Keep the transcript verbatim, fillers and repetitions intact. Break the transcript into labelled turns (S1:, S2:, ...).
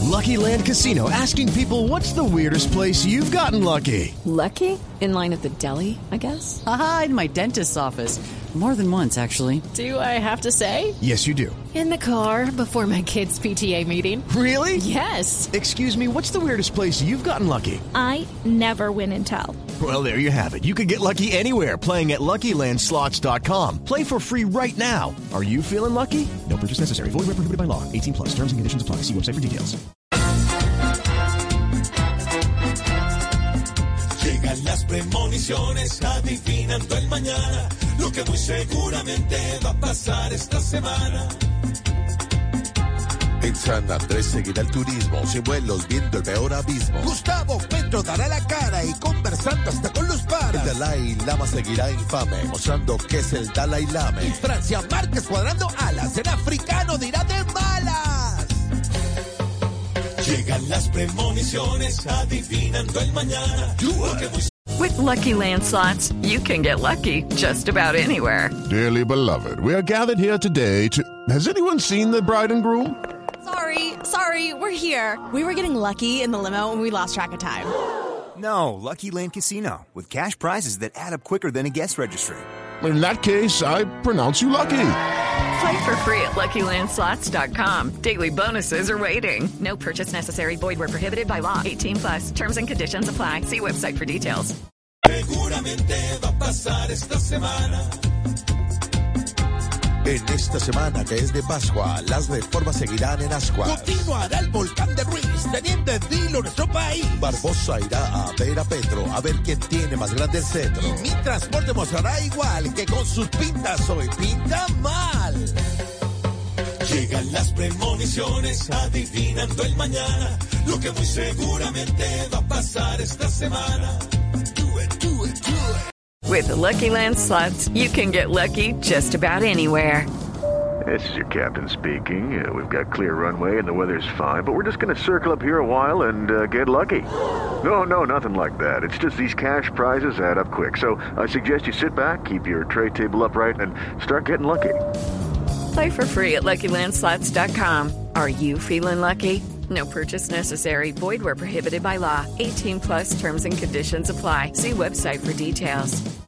S1: Lucky Land Casino, asking people, what's the weirdest place you've gotten lucky?
S2: Lucky? In line at the deli, I guess?
S3: Aha, in my dentist's office. More than once, actually.
S2: Do I have to say?
S1: Yes, you do.
S2: In the car before my kids' P T A meeting.
S1: Really?
S2: Yes.
S1: Excuse me, what's the weirdest place you've gotten lucky?
S4: I never win and tell.
S1: Well, there you have it. You can get lucky anywhere, playing at Lucky Land Slots dot com. Play for free right now. Are you feeling lucky? No purchase necessary. Void where prohibited by law. eighteen plus. Terms and conditions apply. See website for details.
S5: Llegan las premoniciones adivinando el mañana, lo que muy seguramente va a pasar esta semana.
S6: En San Andrés seguirá el turismo, sin vuelos viendo el peor abismo.
S7: Gustavo Petro dará la cara y conversando hasta con los paras.
S6: El Dalai Lama seguirá infame, mostrando que es el Dalai Lama.
S7: Y Francia Márquez cuadrando alas, el africano dirá de malas.
S5: Llegan las premoniciones adivinando el mañana.
S8: With Lucky Land Slots, you can get lucky just about anywhere.
S9: Dearly beloved, we are gathered here today to... Has anyone seen the bride and groom?
S10: Sorry, sorry, we're here. We were getting lucky in the limo and we lost track of time.
S11: No, Lucky Land Casino, with cash prizes that add up quicker than a guest registry.
S9: In that case, I pronounce you lucky.
S8: Play for free at Lucky Land Slots dot com. Daily bonuses are waiting. No purchase necessary. Void where prohibited by law. eighteen plus. Terms and conditions apply. See website for details.
S5: Seguramente va a pasar esta semana.
S6: En esta semana que es de Pascua, las reformas seguirán en ascuas.
S7: Continuará el volcán de Ruiz, teniendo en vilo nuestro país.
S6: Barbosa irá a ver a Petro, a ver quién tiene más grande el cetro.
S7: Y mi transporte mostrará igual, que con sus pintas hoy pinta mal.
S5: Llegan las premoniciones adivinando el mañana, lo que muy seguramente va a pasar esta semana. Do it, do it, do it.
S8: With the Lucky Land Slots, you can get lucky just about anywhere.
S12: This is your captain speaking. Uh, we've got clear runway and the weather's fine, but we're just going to circle up here a while and uh, get lucky. No, no, nothing like that. It's just these cash prizes add up quick. So I suggest you sit back, keep your tray table upright, and start getting lucky.
S8: Play for free at Lucky Land Slots dot com. Are you feeling lucky? No purchase necessary. Void where prohibited by law. eighteen plus terms and conditions apply. See website for details.